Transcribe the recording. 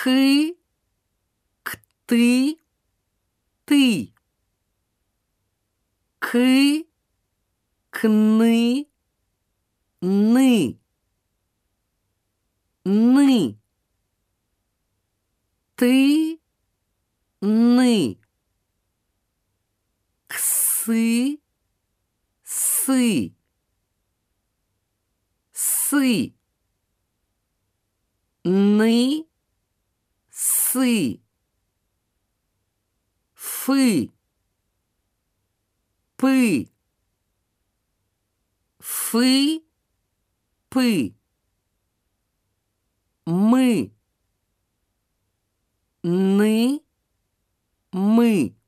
Кы, кты, ты. Кы, кны, ны. Ны. Ты, ны. Ксы, сы. Сы. Ны, сы. Фы. Пы. Фы, пы. Мы. Ны, мы.